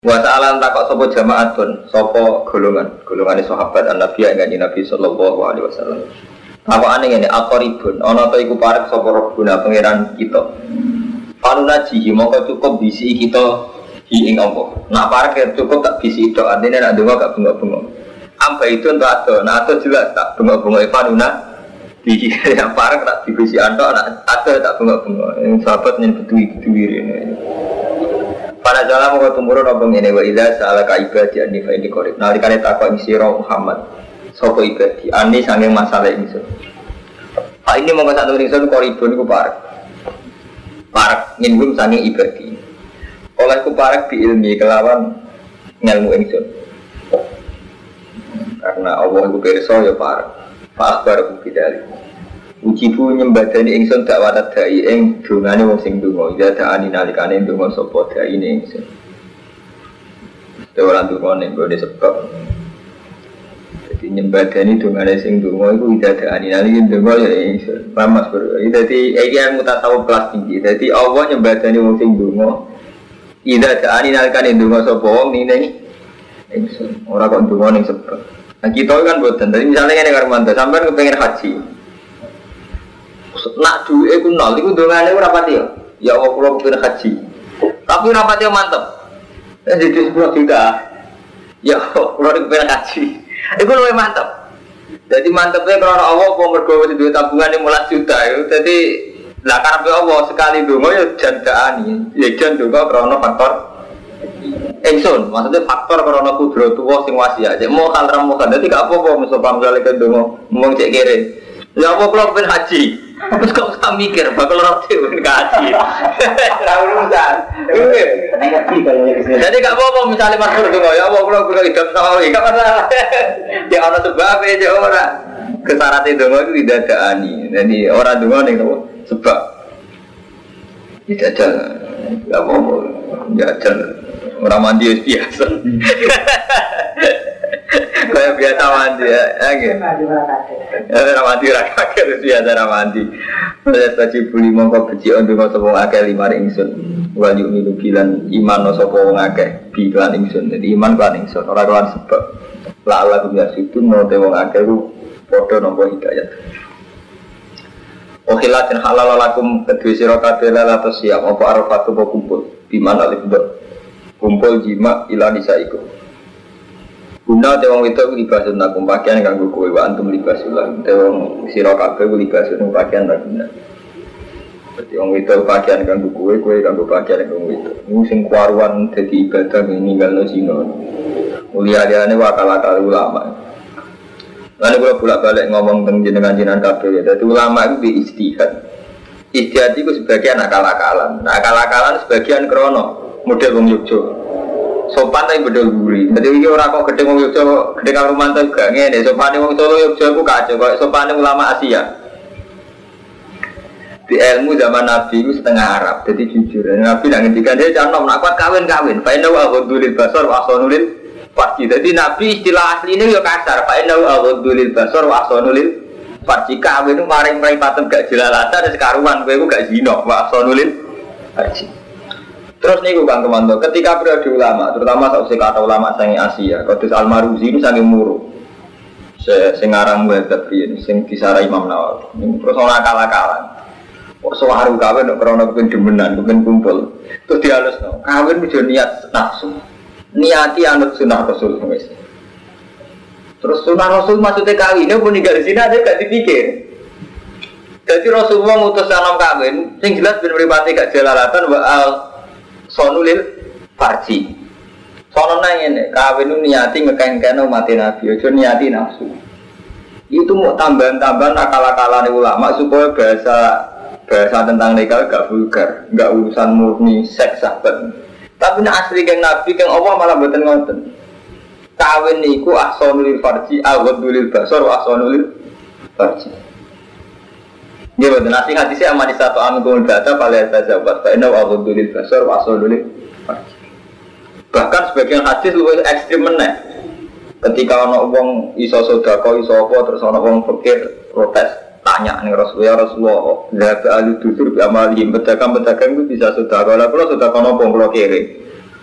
Wa ta'ala takok sapa jamaatun, sapa golongane sahabat Nabi kanjeng Nabi sallallahu alaihi wasallam. Takokane ngene, aqribun ana ta iku parek sapa Rabbuna pangeran kita. Panuna jihi mongko cukup bisi kita ing apa. Nak parek cukup tak bisi tok, artine nek ndonga gak bengok-bengok. Amba itu entuk ado, nah ado jelas tak bengok-bengok panuna. Di yang parek tak dibisi antok, nak ado tak bengok-bengok. Sahabat nyen betuwi-betuwi rene. Pada jalan mau tumurun abang ini wa idza sa'alaka ibadi anni fa inni qarib. Nalikane takok sira Muhammad sapa ibadi anni saking masalah ingsun. Ini mongko sak temene ingsun qaribun iku parek. Parek nyinggung saking ibadi. Oleh ku parek bi ilmi kelawan ngelmu ingsun. Karena Allah iku pirsa ya parek. Fa akhbaru bidalik. Ujibu nyembadani ingsun dakwah dai ing dungane wong sing donga ya daani nalikane donga sapa dai ning ingsun. Ora donga ning gone sebab. Dadi nyembadani dungane sing donga iku daani nalikane donga ya ingsun. Pamas bro. Dadi iki mutasawuf kelas tinggi. Dadi Allah nyembadani wong sing donga ida daani nalikane donga sapa wong ning ingsun. Ora kok donga ning sebab. Nah kita kan boten. Dadi misale ngene karo mantu sampean kepengin haji. Nak duwe ku nol iku dongane ora pati ya. Ya Allah kula kepengin haji. Tapi ora pati mantep. Jadi 10 juta. Ya Allah kula kepengin haji. Iku luwih mantep. Jadi mantepnya karena Allah apa mergo wis duwe tabungan 15 juta itu. Dadi lah karepe Allah sekali donga ya jandaani. Ya jan donga karena faktor ingsun. Maksudnya faktor karena kudratullah sing wasiat. Cek mau hal ramukan. Dadi gak apa-apa misal pamrale ke donga ngomong cek kere. Ya apa kula kepengin haji. Terus kok usah mikir bakal roti ngaji. Ora urusan. Jadi gak apa-apa misalnya Mas Pur ya Allah kula kudu hidup sama iki gak masalah. Ya ana sebab e ora. Kesyarat itu itu tidak ada ani. Jadi orang donga ning sebab. Tidak ada. Gak apa-apa. Jajan ora mandi biasa. Kayak biasa mandi ya, gitu. Ramadi rakyat biasa ramadi. Saya tadi beli mongko beci untuk sopong akeh 5 ingsun. Wali umi bilan iman sopong akeh bilan ingsun. Jadi iman kan ingsun. Orang sebab lala dunia situ mau tewong akeh ku podo nompo hidayat. Okhilatin halal lakum kedua sirokabel atau siap. Apa arafatu mau kumpul. Dimana libet kumpul jima ilah nisaiku. Guna tewang itu libasun nakum pakaian kanggo kowe wa antum libasulah. Tewang sira kabeh libasun pakaian ta guna. Berarti wong itu pakaian kanggo kowe kanggo pakaian kanggo itu. Ini sing kuaruan dadi ibadah ninggalno zina. Mulia-liane wakal-wakal ulama. Lan kula bolak-balik ngomong teng jenengan kabeh. Dadi ulama itu di ijtihad. Ijtihad iku sebagian akal-akalan. Nah, akal-akalan sebagian krono model wong Yogyakarta. Sopan tapi bedol guri. Jadi ini orang kok gede wong Yogyakarta, gede karo mantel gak ngene. Sopane wong Solo Yogyakarta ku kacau kok sopane ulama Asia. Di ilmu zaman Nabi itu setengah Arab. Jadi jujur, Nabi nak ngendikan dia jangan nak kuat kawin. Fa inna wa ghudulil basar wa ahsanul farji. Jadi Nabi istilah asline yo kasar. Fa inna wa ghudulil basar wa ahsanul farji. Kawin itu maring-maring patem gak jelalatan sekaruan kowe ku gak zina wa ahsanul farji. Terus niku Kang Temanto, ketika periode ulama, terutama sausé kata ulama sange Asia, Qudus Al-Maruzi ini sange muru. Sing aran muhadzab riyen, sing disara Imam Nawawi. Terus ora akal-akalan. Kok sawaru kawin nek krana kepengin demenan, kepengin kumpul. Terus dihalusno, kawin kudu niat nafsu. Niati anut sunah Rasul wis. Terus sunah Rasul maksudnya kawin, nek pun ninggal zina ada gak dipikir. Jadi Rasulullah ngutus anak kawin, sing jelas ben mripate gak jalalatan wa sonulil farji. Sono nang ngene, kawin niati ngekeng-kene umat Nabi, aja niati nafsu. Itu mau tambahan-tambahan akal-akalane ulama supaya bahasa tentang nikah gak vulgar, gak urusan murni seks sahabat. Tapi nek asli keng Nabi keng Allah malah mboten ngoten. Kawin niku ahsanul farji, aghadul basar wa ahsanul farji. Dia betul nasi hati saya amati satu amigul data pada sahabat. Karena wabudul basar wasolul. Bahkan sebagian hadis lebih ekstrim meneh. Ketika orang wong iso sodako iso apa terus orang wong fakir protes tanya nih Rasulullah zat ahli dusur bi amalihim pedagang itu bisa sodako lah kalau sodako nopo kalau kiri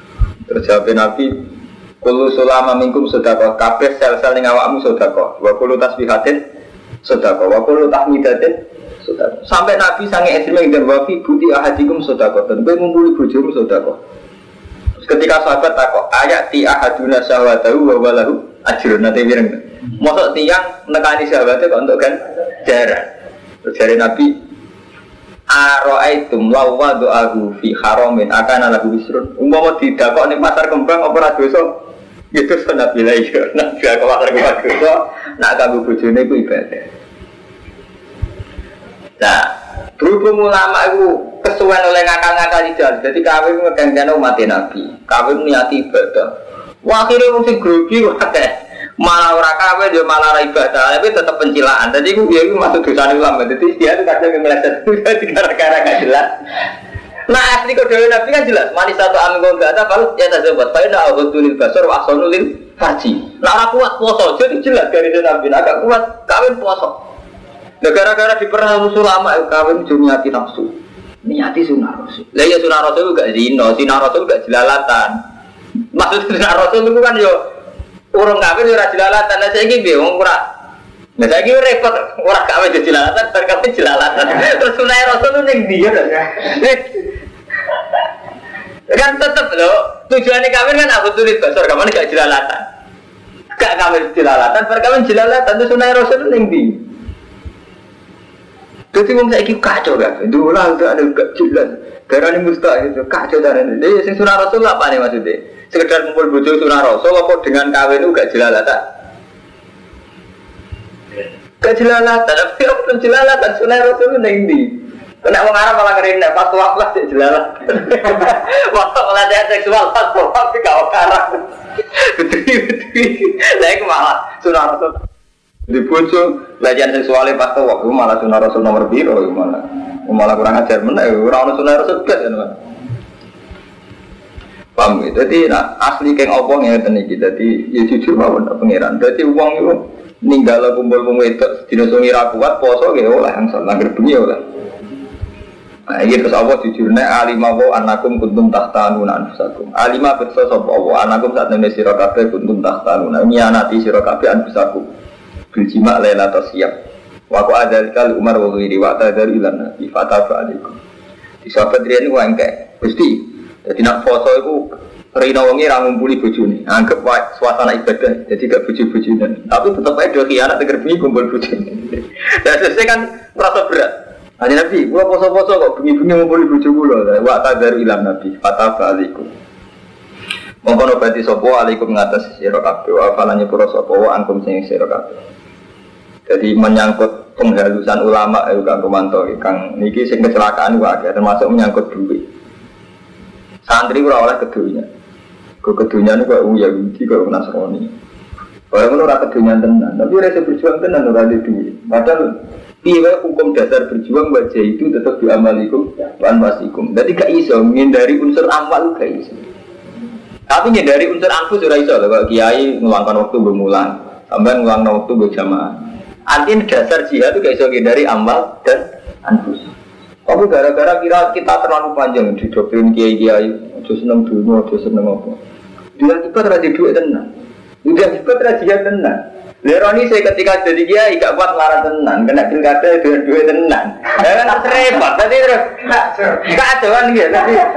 Terus jawab Nabi, kullu sulama minkum sedekah, kabeh sel-sel ning awakmu sedekah. Wa kullu tasbihatin sedekah, wa kullu tahmidatin sedekah. Sampai Nabi sange ekstrem dan wa fi buti ahadikum sedekah. Dan kowe ngumpuli bojomu sedekah. Terus ketika sahabat takok, ayat ti ahaduna syahwatahu wa walahu ajrun nate mireng. Mosok tiyang nekani syahwate kok entuk kan jaran. Terus jare Nabi Aro'aitum lawa do'ahu fi haramin akana lahu wisrun. Umpama didakok ning pasar kembang apa ora dosa? Gitu Nabi la iya. Nabi kok pasar kembang dosa, nak kanggo bojone iku ibadah. Nah, berhubung ulama itu kesuwen oleh ngakal-ngakal jalan. Jadi kawin ngeganggan umat Nabi. Kawin niati ibadah. Wah, akhirnya mesti grogi wae. Malah ora kawin dia malah ora ibadah, tapi tetap pencilaan. Jadi itu masuk dosa ulama. Jadi dia itu kadang meleset gara-gara gak jelas. Nah asli kode Nabi kan jelas. Manis satu amin gak ada kalau ya terjebak. Saya nak abdulil basar wa asonulil haji. Nah orang kuat puasa jadi jelas dari Nabi. Agak kuat kawin puasa. Nah gara-gara diperhatikan ulama kawin cuma niati nafsu, niati sunah rasul. Lah ya sunah rasul gak zina, sunah rasul gak jelalatan. Maksud sunah rasul itu kan yo urung kawin ora jelalatan. Lah saiki piye wong ora. Lah saiki repot ora kawin jelalatan, bar kawin jelalatan. Terus sunah rasul itu ning ndi ya? Kan tetep lho, tujuane kawin kan abdul basar, kamane gak jelalatan. Gak kawin jelalatan, bar kawin jelalatan terus sunah rasul ning ndi? Jadi wong saiki kacau kan. Dolah udah ada gak jelas. Garane mustahil itu kacau darane. Dia sing sunah rasul apa nih maksudnya? Sekedar kumpul bojo sunah rasul apa dengan kawin itu gak jelalatan? Gak jelalatan, tapi apa jelalatan sunah rasul ning ndi? Nek wong Arab malah ngerene pas waktu lah jelalatan. Waktu pelatihan seksual pas waktu gak karang. Betul. Lah iku malah sunah rasul. Di bojo belajar seksualnya pas tuh waktu malah sunah rasul nomor biru malah kurang ajar mana orang sunah rasul kan paham gitu. Jadi asli keng opong yang tadi jadi ya jujur bahwa pengiran. Jadi uang itu ninggal kumpul itu dinosungi rakuat poso gitu lah yang salah gerbengi lah. Nah ini terus Allah jujurnya alimawo anakum kuntum tahtanuna anfusakum. Alimah bersosok Allah anakum saat nene sirokabe kuntum tahtanuna nyianati sirokabe anfusakum. Biljima lela siap. Waku adal kali Umar wahiri waktu dari ilan nabi fatah alaikum. Di sahabat dia ini wangke. Pasti. Jadi nak foto itu Rina wangi rangumpuli bojone. Anggap suasana ibadah. Jadi gak bojo-bojonan. Tapi tetap aja dua kianat terbengi kumpul bojone. Dan selesai kan merasa berat. Hanya nabi, gua poso-poso kok bengi-bengi ngumpuli bojo kula. Waktu dari ilan nabi fatah alaikum. Mongkon obati sopo alaikum ngatas sira kabeh wa falanya pura sopo wa angkum sing sira kabeh. Jadi menyangkut penghalusan ulama Kang Romanto Kang niki sing kecelakaan wae termasuk menyangkut duit. Santri ora oleh kedunya. Kedunya niku kok Yahudi kok Nasrani. Orang ora kedunya tenan, tapi rasa berjuang tenan ora ada duit. Padahal piye hukum dasar berjuang wajah itu tetap diamalikum wan wasikum. Jadi gak iso menghindari unsur amal gak iso. Tapi dari unsur anfus ora iso lho, kok kiai ngulangkan waktu bermulang, sampean ngulangkan waktu berjamaah. Artinya dasar jihad itu gak iso dari amal dan anfus. Tapi gara-gara kita terlalu panjang di doktrin kiai-kiai, aja seneng dunia, aja seneng apa. Dia kita terjadi duit tenan. Dia kita terjadi tenan. Leroni saya ketika jadi kiai gak kuat marah tenan, kena pilkada dengan duit tenan. Ya kan repot. Tadi terus kacau kan gitu.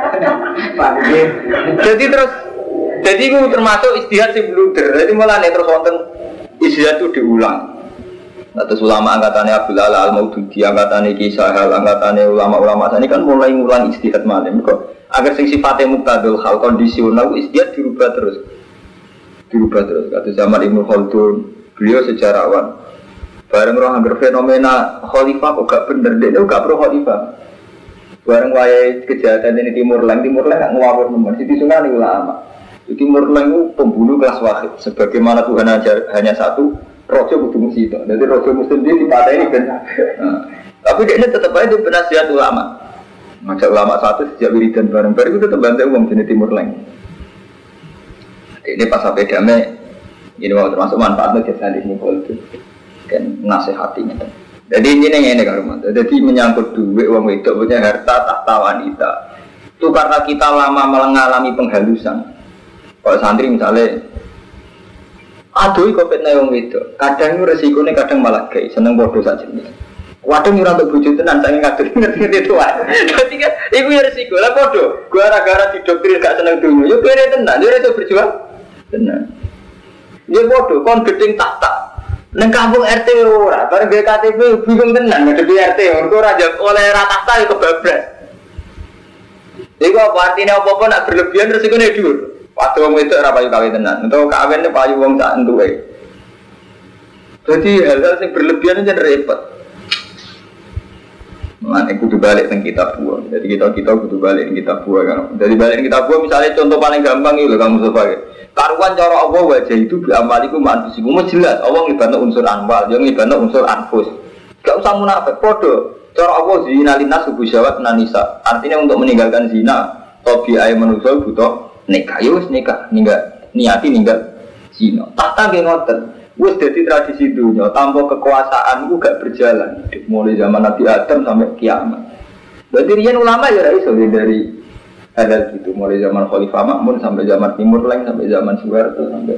Jadi terus jadi itu termasuk istihad si bluder. Jadi mulai terus wonten istihad itu diulang. Atas ulama angkatannya Abdul Ala Al-Maududi, angkatannya Kisah Hal, angkatannya ulama-ulama ini kan mulai ngulang istihad malam kok. Agar sing sifatnya muktadul hal kondisional istihad dirubah terus. Kata zaman Ibnu Khaldun, beliau sejarawan. Bareng orang anggar fenomena khalifah kok gak bener, dia gak pro khalifah. Bareng wayai kejahatan ini Timur Leng gak ngawur teman. Siti Sunani ulama. Timur Leng itu pembunuh kelas wahid. Sebagaimana Tuhan hanya satu, rojo kudu musik. Jadi rojo muslim dia dipatahi kan. Tapi dia tetap aja penasihat ulama. Ngajak ulama satu sejak wiridan bareng-bareng itu tetap bantu uang jenis Timur Leng. Ini pas sampai damai, ini mau termasuk manfaatnya jasa di mukul itu dan nasihatinya. Jadi ini kan, jadi menyangkut duit uang itu punya harta tahta wanita. Itu karena kita lama mengalami penghalusan. Kalau santri misalnya, aduh kok fitnah wong itu, kadang resikonya kadang malah gay, seneng bodoh saja nih. Waduh nyurang untuk bujuk tenan, saya ngerti itu aja. Jadi kan, ibu ya resiko lah bodoh. Gua gara-gara didoktrin gak seneng dunia, yuk beri tenan, yuk itu berjuang tenan. Dia bodoh, kon gedeng tak. Neng kampung RT ora, bareng BKTP bingung tenan ngadepi RT, mergo ora oleh rata itu kebablas. Iku apa artinya apa-apa nak berlebihan resikone dhuwur. Waktu wong itu ora payu kawin tenan, utawa kawin payu wong sak entuke. Jadi hal-hal yang berlebihan itu repot. Mana kudu balik teng kitab buah. Jadi kita kudu balik teng kitab buah kan. Jadi balik teng kitab buah misalnya contoh paling gampang itu kamu sebagai karuan cara Allah wajah itu biamaliku mantusiku jelas. Allah ngibana unsur anwal, dia ngibana unsur anfus. Gak usah munafik. Podo. Cara Allah zina linas subuh syawat nanisa. Artinya untuk meninggalkan zina, tobi'ai manusia butuh nikah. Yus nikah, niati ninggal zina. Tahta ge ngoten. Wis dadi tradisi dunia, tanpa kekuasaan itu gak berjalan. Mulai zaman Nabi Adam sampai kiamat. Berarti riyen ulama ya ora iso dari hal gitu. Mulai zaman Khalifah Makmun sampai zaman Timur Leng sampai zaman Soeharto sampai.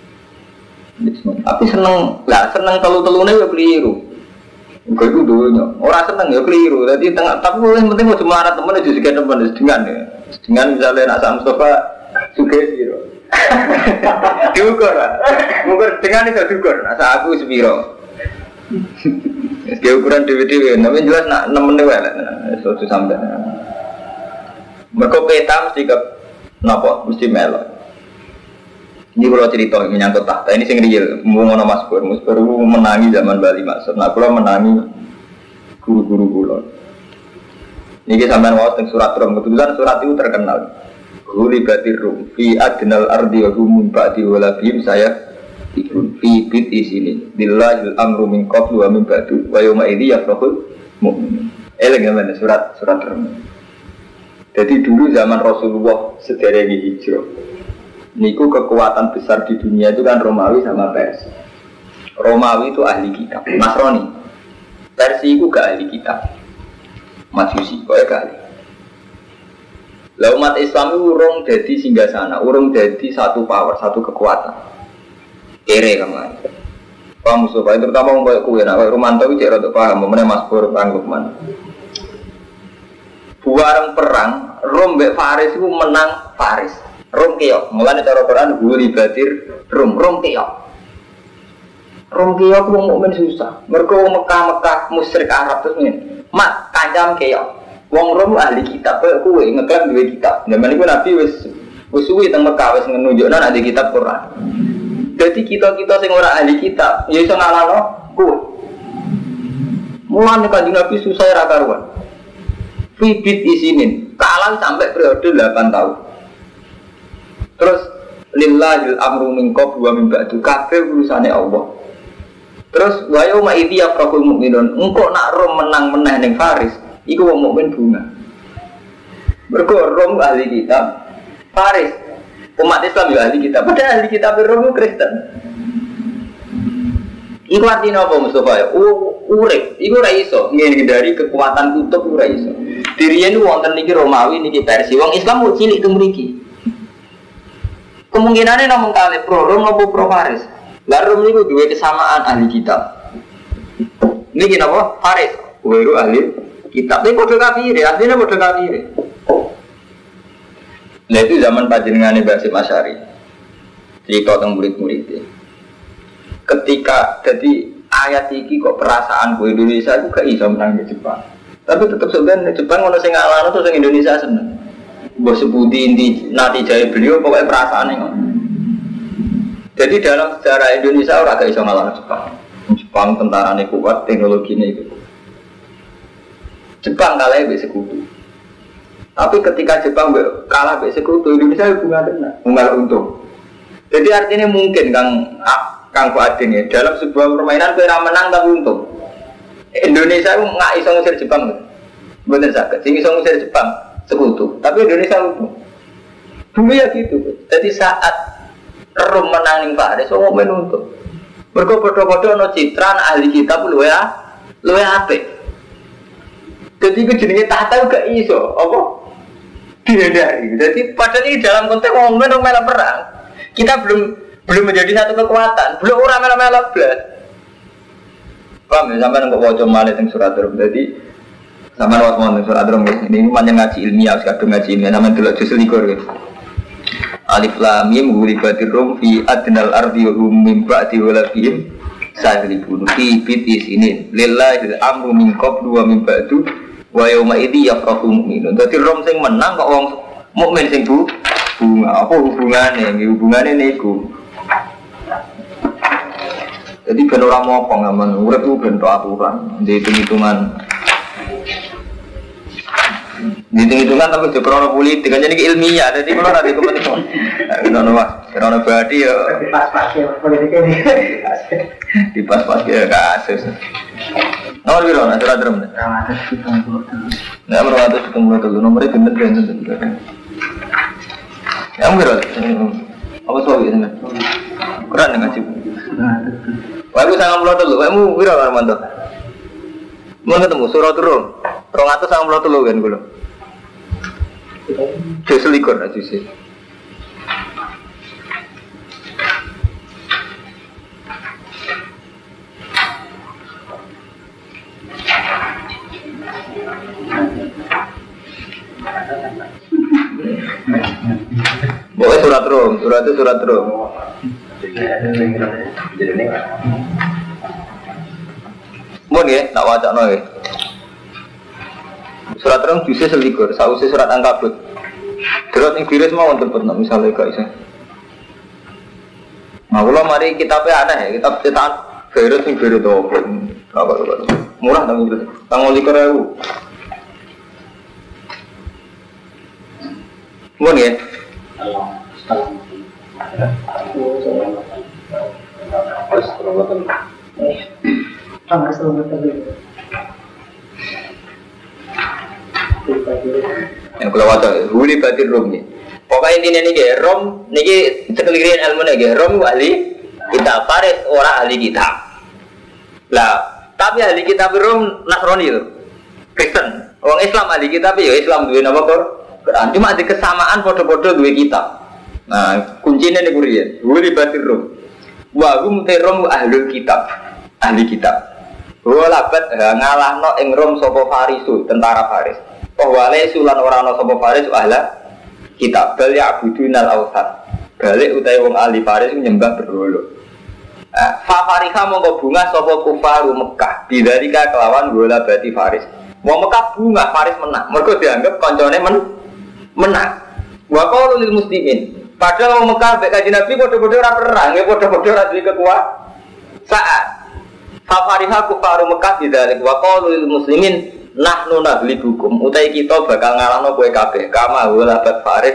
Tapi seneng telu-telune ya keliru. Enggak itu dunia. Orang seneng ya keliru. Jadi tengah tapi yang penting mau cuma temen aja juga temen dengan ya. Dengan misalnya nak Sam Mustafa sugesti loh. Diukur lah. Ukur dengan itu diukur. Asa aku sepiro. Dia ukuran dewe-dewe. Tapi jelas nak 6 menit lah. Suatu sampai. Mereka peta mesti ke napa mesti melok. Ini kalau cerita menyangkut tahta ini sing real. Ngono Mas Pur menangi zaman Bali maksud. Nah kula menangi guru-guru kula. Niki sampean waos teng surat Rum. Kebetulan surat itu terkenal. Hulibatir rum fi adnal ardi wa hum ba'di wala bihim saya ikun fi bit isini billahil amru min qablu wa min ba'du wa yawma idzi yafrahul mu'min. Elegan surat Rum. Jadi dulu zaman Rasulullah sederek hijrah. Niku kekuatan besar di dunia itu kan Romawi sama Persia. Romawi itu ahli kitab, Nasrani. Persia itu gak ahli kitab. Majusi kok gak ahli. Lah umat Islam itu urung jadi singgasana, urung jadi satu power, satu kekuatan. Kere kan lah. Paham Mustafa, terutama orang kayak kue, nak kayak Romanto itu cek rada paham, mana Mas Pur, Kang Lukman. Buareng perang, Rom mbek Faris itu menang Faris. Rom keok, mulane cara Quran guli batir Rom keok. Rom keok wong mukmin susah. Mergo Mekah musyrik Arab terus ngene. Mak kancam keok. Wong Rom ahli kitab, kowe ngeklaim duwe kitab. Zaman iku Nabi wis suwi teng Mekah wis nunjukna nek di kitab Quran. Jadi kita sing ora ahli kitab, ya iso ngalahno kowe. Mulane Kanjeng Nabi susah ra karuan. Fibit isinin, kalah sampai periode 8 tahun. Terus lillahil amru min qablu wa min ba'du, kabeh urusane Allah. Terus wa yauma idzi yafrahul mu'minun, engko nak Rom menang meneh ning Faris. Iku wong mukmin bunga. Mergo Rom ahli kitab, Faris umat Islam ya ahli kitab. Padahal ahli kitab Rom Kristen. Iku artinya apa Mustafa? Urip. Iku ora iso ngindari kekuatan kutub ora iso. Diriyen wonten niki Romawi niki Persia. Wong Islam mau cilik teng mriki. Kemungkinane namung kalih pro Rom apa pro Faris. Lah Rom niku duwe kesamaan ahli kitab. Niki napa? Faris. Weru ahli kitab, tapi kode kafir, artinya kode kafir. Nah itu zaman panjenengane Basim Asy'ari. Cerita tentang murid-muridnya. Ketika jadi ayat iki kok perasaan ku Indonesia aku gak iso menang di Jepang. Tapi tetap sebenarnya Jepang ono sing ngalahno terus sing Indonesia seneng. Mbok sebuti inti natijah beliau pokoknya perasaane ngono. Jadi dalam sejarah Indonesia ora gak iso ngalahno Jepang. Jepang tentarane kuat, teknologine itu. Jepang kalah be sekutu. Tapi ketika Jepang kalah be sekutu, Indonesia bunga untung. Jadi artinya mungkin Kang Fuadin ya dalam sebuah permainan kira menang tapi untung. Indonesia itu nggak iso ngusir Jepang, bener sakit. Sing iso ngusir Jepang sekutu, tapi Indonesia untung. Dulu ya gitu. Jadi saat Rom menang ning Faris, wong untung. Mergo padha-padha ana citra ahli kitab luwe apik. Jadi itu jenenge tahta gak iso, apa? dihindari. Jadi padahal ini dalam konteks orang melok perang. Kita belum menjadi satu kekuatan. Belum orang melok belas. Paham ya? Sampai nggak wajib malah tentang surat Rum. Jadi sama lewat mau tentang surat Rum. Ini panjang ngaji ilmiah, sekadar ngaji ilmiah. Sama dulu justru likur. Alif lam mim ghulibatir rum fi adnal ardi wa hum min ba'di walabihim sahribun fi bitis ini lillahi amru min qablu wa min ba'du wa yawma idzi yafrahu mu'minun. Dadi rom sing menang kok wong mukmin sing bunga. Apa hubungane? Hubungane niku. Jadi ben ora mopo ngamen urip ku ben aturan, hitung-hitungan. Hitung-hitungan tapi juga krono politik, kan jadi ilmiah, jadi kalau nanti kepentingan krono mas, krono badi ya pas-pas ya politik ini di pas-pas ya kasus nomor berapa, nanti surat drum nomor 170 nomornya bener-bener yang berapa, apa soal ini kurang dengan sih wah aku sangat melotot lu, kamu berapa Armando mau ketemu surat Rum 293 kan gue jus likur aja sih boleh surat Rum mohon ya, tak wajak no ya. Surat Rum jusnya selikur, sausnya surat Ankabut. Terus yang virus mau untuk pernah misalnya gak bisa. Nah kalau mari kitabnya aneh ya, kitab cetakan virus yang virus itu apa murah tanggung likur ya. Mohon ya. Yang kalau waca, huli batin Rum ni. Pokoknya intinya ni ke Rum, ni ke sekelirin ilmu ni ke Rum ahli kitab, Faris orang ahli kitab. Lah, tapi ahli kitab Rum Nasrani tu, Kristen. Orang Islam ahli kitab ya Islam dua nama Quran. Cuma ada kesamaan foto-foto dua kitab. Nah, kuncinya ni kurian, huli batin Rum. Wahum terom ahli kitab, ahli kitab. Walabat ngalahno ing Rom sapa Farisu, tentara Faris. Wale sulan ora ana sapa Faris ahla kitab bal ya'budunal awsan. Balik utahe wong ahli Faris nyembah berhala. Fa fariha monggo bunga sapa kufaru Mekah. Bidzalika kelawan bola bati Faris. Wong Mekah bunga Faris menang. Mergo dianggap kancane menang. Wa qaulul muslimin. Padahal wong Mekah mek Kanjeng Nabi padha-padha ora perang, ya padha-padha ora duwe kekuasaan. Fafariha kufaru Mekah bidzalik wa qalu lil muslimin nahnu naghlibukum utai kita bakal ngalahno kowe kabeh kama walabat Faris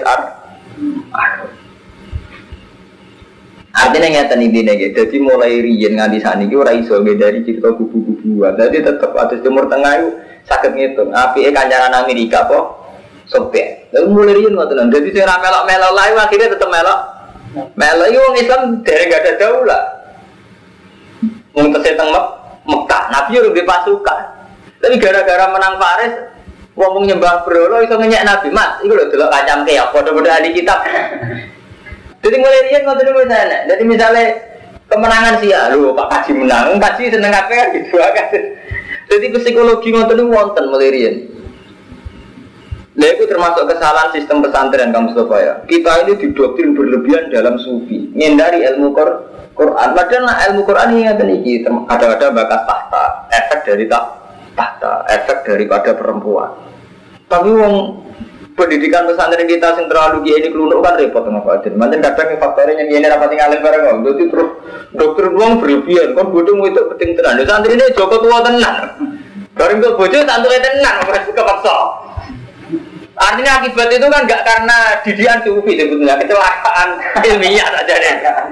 artinya ngeten intine nggih dadi mulai riyen nganti saniki ora iso dari cerita kubu-kubuan dadi tetep atus Timur Tengah iku saged ngitung apike kancaran Amerika apa Soviet lha mulai riyen ngoten dadi sing ra melok-melok lae akhirnya tetep melok iki wong Islam dereng gak ada daulah. Wong terseteng Mekah, Nabi udah pasukan. Tapi gara-gara menang Faris, wong nyembah berhala iso ngenyek Nabi. Mas, iku lho delok kacam keok padha-padha ahli kitab. Jadi mulai riyen ngoten niku sana. Jadi misalnya kemenangan sih ya, lho Pak Kaji menang, Kaji seneng kabeh kan gitu kan. Jadi psikologi ngoten niku wonten mulai riyen. Nah, itu termasuk kesalahan sistem pesantren kamu Mustafa ya. Kita ini didoktrin berlebihan dalam sufi, menghindari ilmu Quran. Padahal ilmu Quran ini ada bakat tahta, efek dari tahta, efek daripada perempuan. Tapi wong pendidikan pesantren kita yang terlalu gini kelunuk kan repot sama Pak Adin. Macam kadang faktornya yang ini rapat tinggalin bareng. Jadi terus dokter uang berlebihan, kan bodoh itu penting tenan. Santri ini Joko tua tenan. Bareng tuh bodoh santri tenan, mereka kepaksa. Artinya akibat itu kan enggak karena didikan sufi sebetulnya, kecelakaan ilmiah saja deh.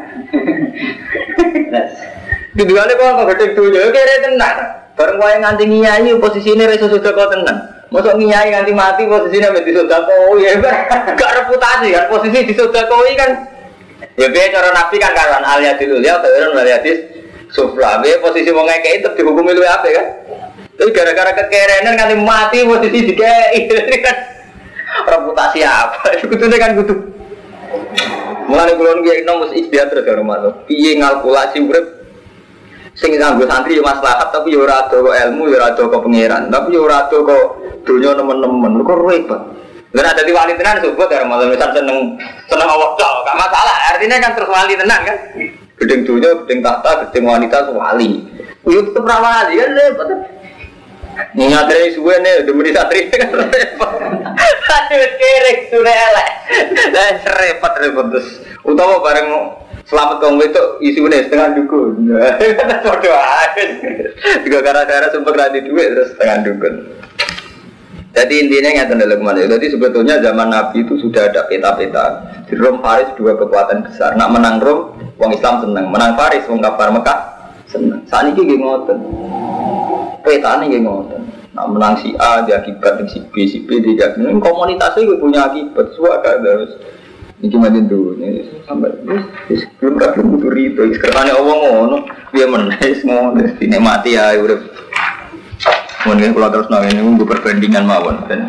Tujuannya kok gede dulu, oke tenan. Bareng wae nganti nyai posisinya reso sudah kau tenan. Masuk nyai nganti mati posisinya menjadi sodakoi, ya enggak reputasi kan posisi di sodakoi kan. Ya biar cara nabi kan karuan aliyadil ulia, karuan aliyadis sufla. Biar posisi mau ngekei tetap dihukumi lu apa kan? Tapi gara-gara kekerenan nganti mati posisi dikei kan. reputasi apa? Kudune kan kudu. Mulane kula niki nom mesti ikhtiar terus karo manut. Piye ngalkulasi urip sing nganggo santri yo maslahat tapi yo ora ado kok ilmu, yo ora ado kok pangeran, tapi yo ora ado kok donya nemen-nemen. Kok repot. Lah dadi wali tenan sebut karo manut seneng Allah tok, gak masalah. Artinya kan terus wali tenan kan. Gedeng donya, gedeng tahta, gedeng wanita wali. Yo tetep ra wali kan repot. Ingat dari suwe nih, demi satri kan repot. Aduh kerek sudah elek, dan repot terus. Utama bareng selamat kaum itu isunya setengah dukun. Bodoh aja. Juga gara-gara sempat radi duit terus setengah dukun. Jadi intinya nggak dalam mana. Jadi sebetulnya zaman Nabi itu sudah ada peta-peta. Di Rom Faris dua kekuatan besar. Nak menang Rom, wong Islam senang. Menang Faris, wong kafir Mekah senang. Saat ini gini ngoten. Peta ini ngoten. Nah menang si A dia akibat si B dia komunitasnya gue punya akibat suaka terus ini gimana dulu ini sampai belum butuh itu sekarang Allah ngono dia menaik ngono dinikmati ya udah mungkin kalau terus nangis ini gue perbandingan mawon dan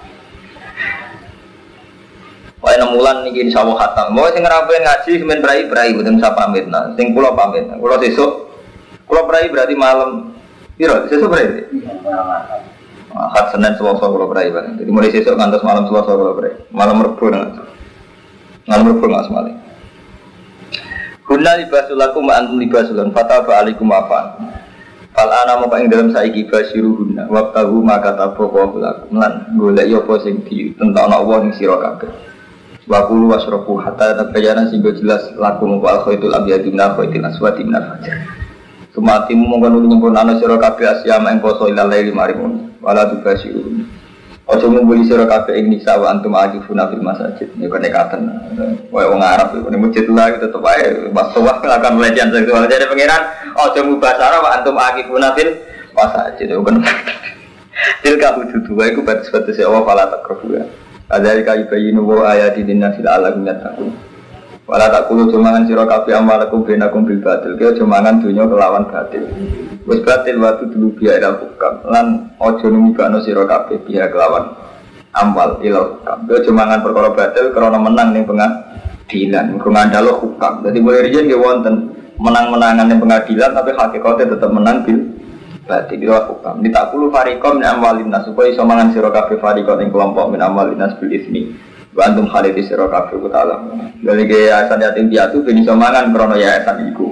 wah 6 bulan ini insya Allah khatam mau sing ngerapain ngaji semen berai betul saya pamit nah sing pulau pamit kalau besok kalau berai berarti malam. Iya, sesuk berarti. Ahad Senin Selasa kalau berai bang. Jadi mulai sesuk ngantos malam Selasa kalau berai. Malam Rebo nggak semali. Guna libasulakum antum libasulan fataba alikum afan. Fal ana mau ing dalam saiki basiru guna. Waqtahu maka taboku lakum lan golek yo apa sing di tentang Allah ning sira kabeh. Wa qulu wasrafu hatta tabayyana sing jelas lakum wa khaitul abyadu min khaitil aswadi min al-fajr. Sumatimu mongkon nyempurnane sira kabeh asyama ing poso ilahi marimun wala tubasiru. Aja ngumpuli sira kabeh ing nisa wa antum akifuna fil masajid. Nek kenekaten koyo wong Arab iku nek masjid lah tetep ae wastowa akan pelecehan seksual. Jadi pangeran aja mubasara wa antum akifuna fil masajid. Bukan. Tilka hududu wa iku batas-batas Allah fala takrubu. Adzalika yubayyinu wa ayati linnasi la'allahum yattaqun. Wala tak kulo jomangan sira kabeh amalakum benakum bil batil. Ki jomangan dunya kelawan batil. Wis batil waktu dulu biya ila hukam lan aja numibano sira kabeh biya kelawan amal ila hukam. Ki jomangan perkara batil krana menang ning pengadilan. Mergo ngandalo hukam. Dadi mulai riyen nggih wonten menang-menangan ning pengadilan tapi hakikate tetep menang bil batil ila hukam. Ditakulu fariqom min amwalin nas supaya iso mangan sira kabeh fariqom ing kelompok min amwalin nas bil ismi. Bantum khalid sira kabeh ku ta'ala. Dari yayasan yatim piatu ben iso mangan krana yayasan iku.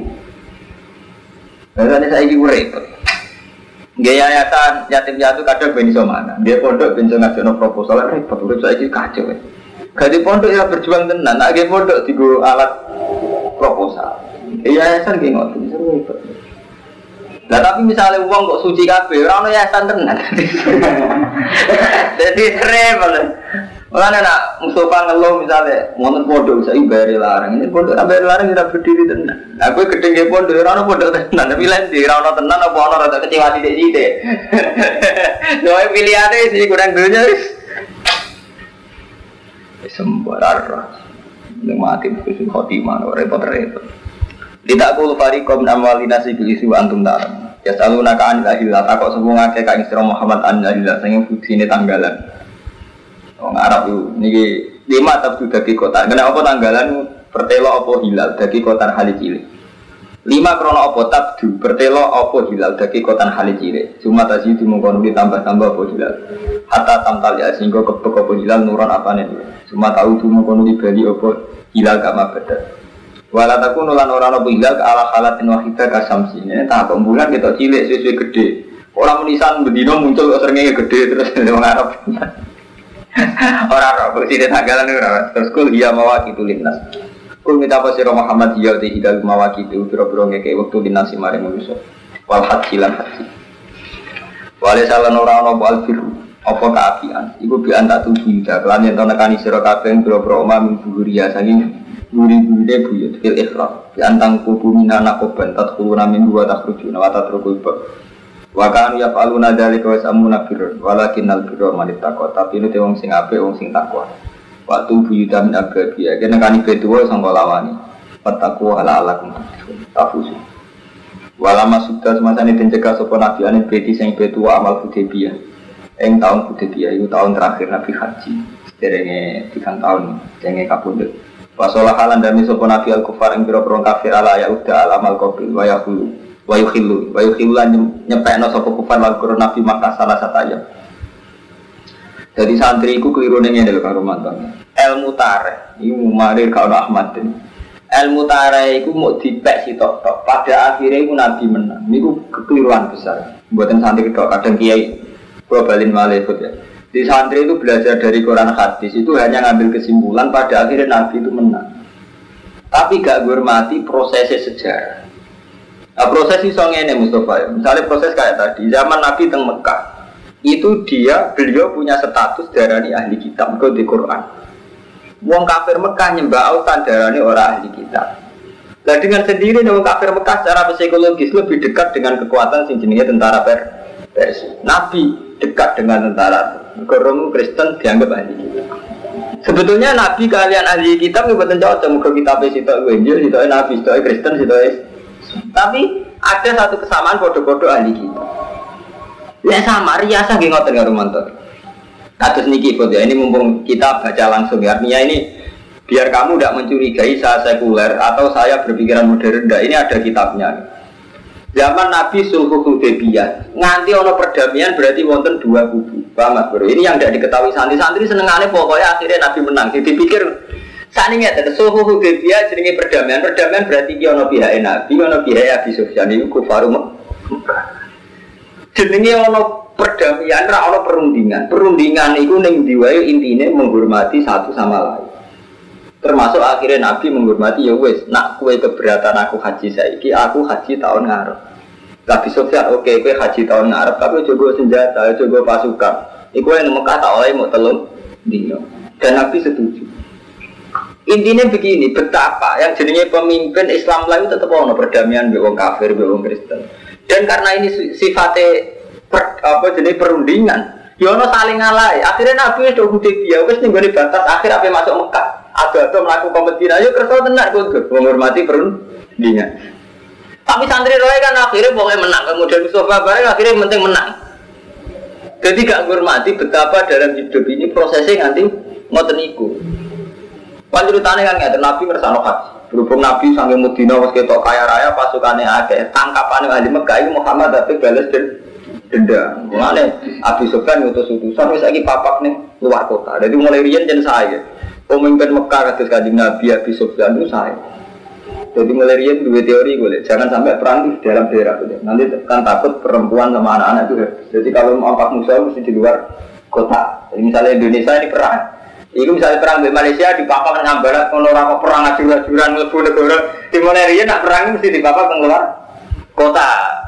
Lah saiki ku repot. Nggih yayasan yatim piatu kadang ben iso mangan. Dia pondok ben iso ngajono proposal repot urip saiki kacau. Gadi pondok ya berjuang tenan, nek nggih pondok digo alat proposal. Yayasan ki ngoten repot. Lah tapi misalnya wong kok suci kabeh ora ono yayasan tenan. Jadi repot. Mulane nak Mustafa ngeluh misalnya wonten pondok saiki bayar larang. Ini pondok bayar larang tidak berdiri tenan. Aku gedhe nggih pondok ora ono pondok tenan. Tapi lain di ora ono tenan apa ono rada kecewa sithik-sithik. Lho pilihane sih kurang dunya wis. Sembarar. Nek mati wis khotimah repot-repot. Ditakul fariqom amwalina sibilisi wa antum ta'lam. Ya saluna ka anil ahillah takok sapa ngake ka Isra Muhammad an ahillah sing fuksine tanggalan. Wong Arab itu niki 5 tabdu dadi kota. Kena apa tanggalan pertelo apa hilal dadi kota hali cilik. 5 krono apa tabdu pertelo apa hilal dadi kota hali cilik. Cuma tadi dimungkon ditambah-tambah apa hilal. Hatta tamtal ya sehingga kebek apa hilal nuron apane. Cuma tahu dimungkon dibali apa hilal kama badat. Wala takunu lan ora ana hilal ka ala halatin wahidah kasamsi. Ini tak bulan kita cilik sesuai gede. Orang menisan bendino muncul kok seringnya gede terus wong Arab. Orang Arab bersih tanggalan ora terus kul iya mawaki tulinas. Kul minta apa sira Muhammad ya te hidal mawaki itu pira-pira ngeke wektu dinasi mare manusa. Wal haji lan haji. Wale salan ora ana apa albiru apa kaapian. Iku bi anta tuju lan yen to nekani sira kabeh pira-pira omah mingguria saking guri-gurine buyut fil ikhram. Bi antang kubu minana koban tadkhuluna min wa takhrujuna wa tatrukul wa kan ya paluna dalika wa samuna birr walakinnal birra man ittaqa tapi ini wong sing apik wong sing takwa waktu buyuta min ababiya kene kan betuwa sangka lawani petakwa ala alakum tafusu walama sudah semasane den cekak sapa nabi ane beti sing betuwa amal Hudaybiyah ing taun Hudaybiyah iku taun terakhir Nabi haji derenge 3 tahun derenge kapundhut. Wasolah halan dami sapa nabi al-kufar ing pira-pira kafir ala ya uda alamal qabil wa yukhillu lan nyepekno sapa kufar lan karo nabi Makkah salah sataya. Jadi santri iku klirune ngene lho karo mantan. Ilmu tarikh iku marir karo Ahmad. Ilmu tarikh iku mau dipek sitok-tok. Pada akhirnya iku nabi menang. Niku kekeliruan besar. Mboten santri tok kadang kiai kula balin malih ya. Di santri itu belajar dari Quran hadis itu hanya ngambil kesimpulan pada akhirnya Nabi itu menang. Tapi gak menghormati prosesnya sejarah. Nah, proses itu ngene Mustafa ya. Misalnya proses kayak tadi zaman Nabi teng Mekah itu beliau punya status darani ahli kitab di Quran. Wong kafir Mekah nyembah autan darani orang ahli kitab. Nah dengan sendiri wong kafir Mekah secara psikologis lebih dekat dengan kekuatan sing jenenge tentara Persia. Nabi dekat dengan tentara. Orang Kristen dianggap ahli kitab. Sebetulnya Nabi kalian ahli kitab bukan cocok muka kitabnya sitok Injil, sitok Nabi, sitok Kristen, sitok tapi ada satu kesamaan bodoh-bodoh ahli kitab. Ya sama, riasa nggih ngoten karo mantor. Kados niki Bud ya, ini mumpung kita baca langsung ya. Artinya ini biar kamu tidak mencurigai saya sekuler atau saya berpikiran modern. Ini ada kitabnya. Zaman Nabi Sulhul Hudaybiyah nganti ono perdamaian berarti wonten dua kubu. Paham Mas Bro? Ini yang tidak diketahui santri-santri senengane pokoknya akhirnya Nabi menang. Jadi dipikir sakniki ngeten Sulhul Hudaybiyah jenenge perdamaian. Perdamaian berarti ki ono pihake Nabi, ono pihake Abi Sufyan iku kufaru Mekah. Jenenge ono perdamaian ra ono perundingan. Perundingan iku ning ndi wae intine menghormati satu sama lain. Termasuk akhirnya Nabi menghormati ya wis, nak kue keberatan aku haji saiki, aku haji tahun ngarep. Nabi Sufyan oke, kue haji tahun ngarep, tapi coba senjata, coba pasukan. Iku yang Mekah tak oleh mau telung dino. Dan Nabi setuju. Intinya begini, betapa yang jenenge pemimpin Islam lain tetap ono perdamaian be wong kafir, be wong Kristen. Dan karena ini sifatnya jenis perundingan, ya ono saling ngalai. Akhirnya Nabi wis do Hudaybiyah, wis ning gone batas akhir ape masuk Mekah. Ada melakukan kompetisi, ayo kerso tenar kudu menghormati perundingan. Tapi santri roe kan akhirnya pokoknya menang, kemudian Mustafa bareng akhirnya penting menang. Jadi gak menghormati betapa dalam hidup ini prosesnya nanti ngoten iku. Panjurutane kan ngeten Nabi ngersano haji. Berhubung Nabi sampai Madinah wis ketok kaya raya pasukane akeh, tangkapane ahli Mekah iki Muhammad tapi balas dendam. Mulane Abi Sufyan ngutus utusan wis saiki papak ning luar kota. Jadi mulai riyen jen saya. Pemimpin Mekah kados Kanjeng Nabi Abi Sufyan itu saya. Jadi mulai riyen dua teori boleh, jangan sampai perang di dalam daerah itu. Nanti kan takut perempuan sama anak-anak itu. Jadi kalau mau angkat musuh mesti di luar kota. Jadi misalnya Indonesia ini perang, itu misalnya perang di Malaysia di papak dengan barat, kalau orang perang acur-acuran mlebu negara, di mulai riyen nak perang mesti di papak keluar kota.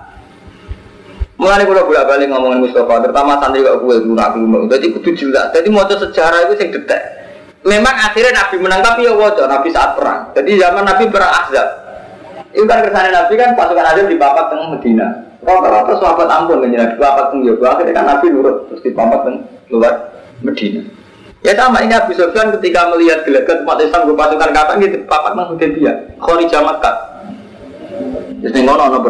Mulai kalau bolak-balik ngomongin Mustafa, terutama santri kok gue dulu nak belum. Jadi kudu jelas. Jadi mau sejarah itu sing detek. Memang akhirnya Nabi menang tapi ya wajah Nabi saat perang. Jadi zaman Nabi perang Ahzab. Itu kan kersane Nabi kan pasukan Ahzab di papat teng Madinah. Rata-rata sahabat ampun menjadi di papat teng Yaman. Akhirnya kan Nabi nurut terus di papat teng luar Madinah. Ya sama ini Abi Sufyan ketika melihat gelagat umat Islam berpasukan kapan gitu papat teng Hudaybiyah. Kharija Makkah. Terus ngono ono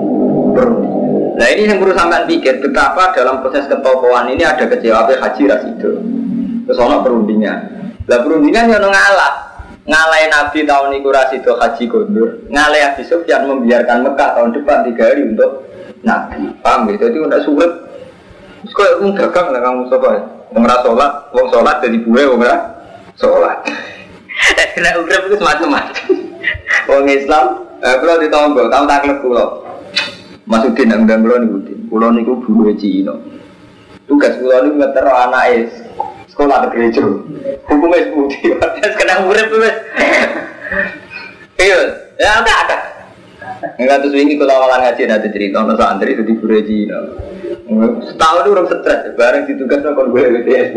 Nah ini yang perlu sampean pikir betapa dalam proses ketokohan ini ada kecewa Haji Rasido. Terus ono perundingan. Lah perundingan yang ngalahin Nabi tahun itu Rasido haji gondor, ngalahin Abi Sufyan membiarkan Mekah tahun depan 3 hari untuk Nabi. Paham gitu? Jadi udah sulit. Terus kok dagang lah kamu sobat. Wong sholat jadi buwe wong sholat. Kena urip itu macam-macam. Wong Islam, kalau ditombo, kamu taklek pulau. Masudin yang undang pulau niku buwe Cina. Tugas pulau niku ngetero anak sekolah ke gereja, hukumnya sepudi, terus kena urip terus. Iya, ya ada. Enggak terus ini kalau awalan ngaji ada cerita orang santri itu di gereja. Setahun itu orang stres, bareng ditugas nongol gue BTS.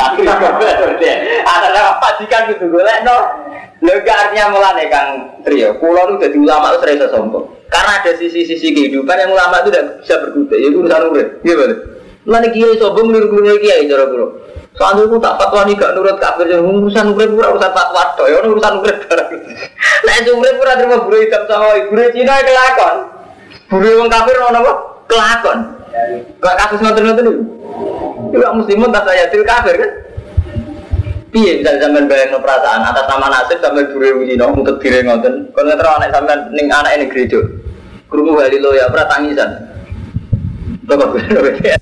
Ada apa jikan gitu gue no. Lega artinya mulane Kang Trio. Pulau itu jadi ulama itu serasa sombong. Karena ada sisi-sisi kehidupan yang ulama itu tidak bisa berkutik. Itu urusan urip, gimana? Mulane kiai sombong niru-niru kiai cara pulau. Soalnya aku tak fatwa nih gak nurut kafir, urusan urip pura urusan fatwa toh, ya urusan urip barang. Nah itu urip pura terima buru hitam sama buru Cina kelakon, buru orang kafir orang apa kelakon. Kalau kasus ngotot itu, juga muslimun tak saya til kafir kan? Piye bisa sampean bayangno perasaan atas nama nasib sampean dure wino untuk dire ngoten. Kon ngetro anak sampean ning anake ning gereja. Krungu halilo ya ora tangisan. Kok gue.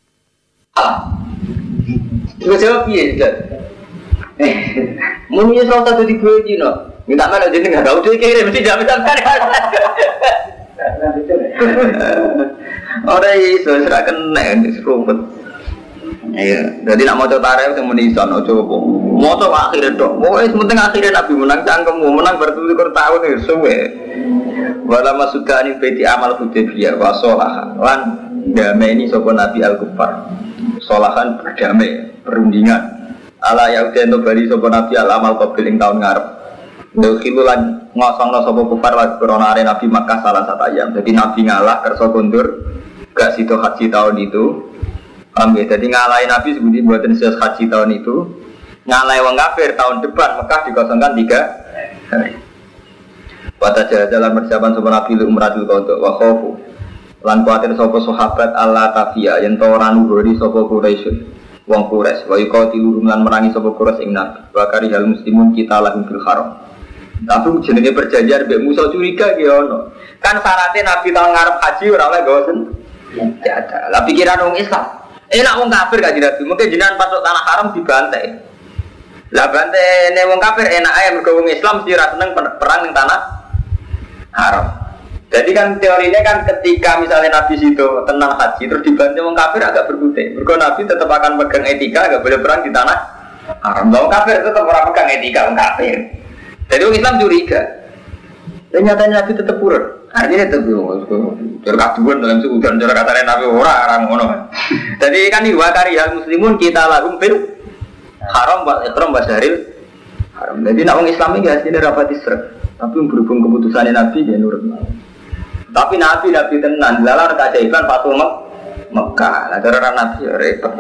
Terus jawab piye Jan? Muni salah satu di gue Cina. Minta mana jadi enggak tahu dia kirim mesti jam sampean. Ora iso ora kena serumpet. Iya, jadi nak mau coba tarik yang menisan, coba mau coba akhirnya dok. Pokoknya sementing akhirnya Nabi menang cangkemmu, menang bertutur tahun nih, suwe. Walau masukkan ini beti amal Hudaybiyah, wasolah, lan damai ini sopo Nabi Al-Kufar, solahan berdamai, perundingan. Ala Yaudah untuk bali sopo Nabi Al-Amal Qabil yang tahun ngarep. Khilulan ngosong no sopo Kufar lagi koronare Nabi Makkah salah satu ayam. Jadi Nabi ngalah kerso kondur, gak situ haji tahun itu. Jadi ngalahin Nabi sebuti buatan sias haji tahun itu, ngalahin wong kafir tahun depan Mekah dikosongkan 3 hari. Pada jalan persiapan sopan Nabi umratul qadha wa khofu. Lan kuatir sopo sahabat Allah tafia yen to ora nuhuri sopo Quraisy. Wong Quraisy wa yuqatilu lan merangi sopo Quraisy ing Nabi. Wa karihal muslimun kita lahum fil haram. Tapi jenenge perjanjian mbek Musa curiga ki ono. Kan syaratnya Nabi tahun ngarep haji ora oleh gawa senjata. Lah pikiran wong Islam enak wong kafir gak Nabi, mungkin jenengan masuk tanah haram dibantai. Lah bantai nek wong kafir enak ae mergo wong Islam mesti ra seneng perang ning tanah haram. Jadi kan teorinya kan ketika misalnya Nabi situ tenang haji terus dibantai wong kafir agak berkutik. Mergo Nabi tetap akan pegang etika, gak boleh perang di tanah haram. Wong kafir tetap ora pegang etika wong kafir. Jadi wong Islam curiga. Ternyata Nabi tetap purun. Artinya tetap terkaduan dalam seudan cara katanya Nabi orang ngono. Jadi kan diwakari hal muslimun kita lahum fil haram wa ikram wa syahril haram. Jadi nak wong Islam iki asline rapat isra. Tapi berhubung keputusannya Nabi dia nurut. Tapi Nabi tenan, lalar keajaiban Fatul Mekah. Lah cara Nabi ya repot.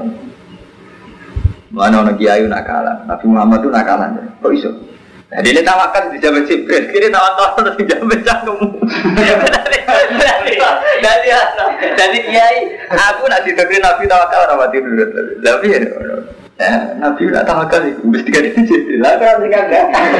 Mana ono kiai nakalan. Nabi Muhammad itu nakalan. Kok iso? Jadi ini tawakal di zaman Jibril, kini tawakal terus di zaman cangkemmu. Jadi kiai, aku nak didoktrin Nabi tawakal orang mati dulu. Tapi ya, Nabi nak tawakal itu mesti kan itu Jibril. Lah kan enggak.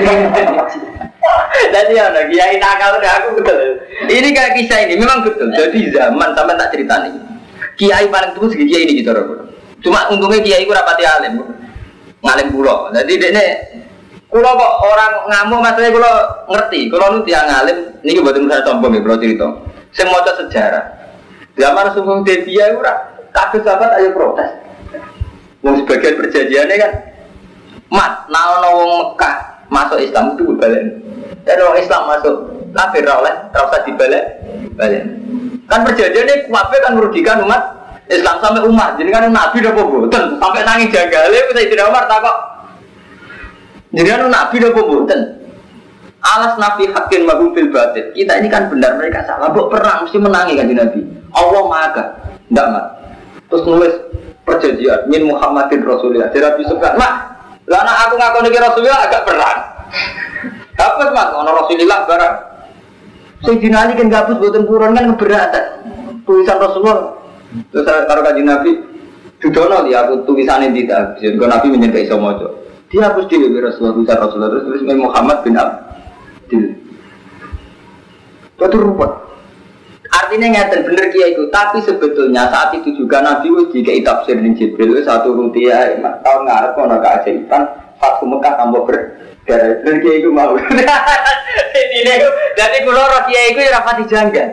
Jadi ya, kiai nakal udah aku betul. Ini kayak kisah ini memang betul. Jadi zaman sampai tak cerita nih. Kiai paling tua segi kiai ini gitu loh. Cuma untungnya kiai itu rapati alim, ngalim pulau. Jadi dia kalau kok orang ngamuk maksudnya kalau ngerti, kalau nu tiang ngalim, ini buatan saya sombong ya, bro cerita. Saya mau sejarah. Zaman Sugeng Devia itu kabeh sahabat ayo protes. Wong sebagian perjanjiannya kan, mat, nah wong Mekah masuk Islam itu balik. Dan orang Islam masuk kafir oleh, terusah dibalik. Kan perjanjiannya kabeh kan merugikan umat Islam sampai umat. Jadi kan Nabi udah boboten sampai nangis jagale, kita tidak Umar takok. Jadi Nabi udah boboten. Alas Nabi hakin magum fil batil. Kita ini kan benar, mereka salah. Bok perang mesti menangi kan di Nabi. Allah maha ndak mat. Terus nulis perjanjian min Muhammadin Rasulullah. Jadi Nabi suka. Mak, lah anak aku ngaku nih Rasulullah agak perang. Hapus mas, ono Rasulullah barang. Sing dinali kan gabus boten purun kan keberatan. Tulisan Rasulullah. Terus taruh kaji Nabi. Dudono dia aku tulisannya tidak. Jadi Nabi menyertai semuanya. Dia hapus di Rasulullah terus tulis Muhammad bin Abdul. Itu ruwet. Artinya ngeten bener kiai itu, tapi sebetulnya saat itu juga Nabi wis dikai tafsir ning Jibril satu rupiah tahun ngarep ana keajaiban Fatul Mekah tambah berdarah. Bener kiai itu mau. Ini jadi kula ro kiai iku ora pati janggal.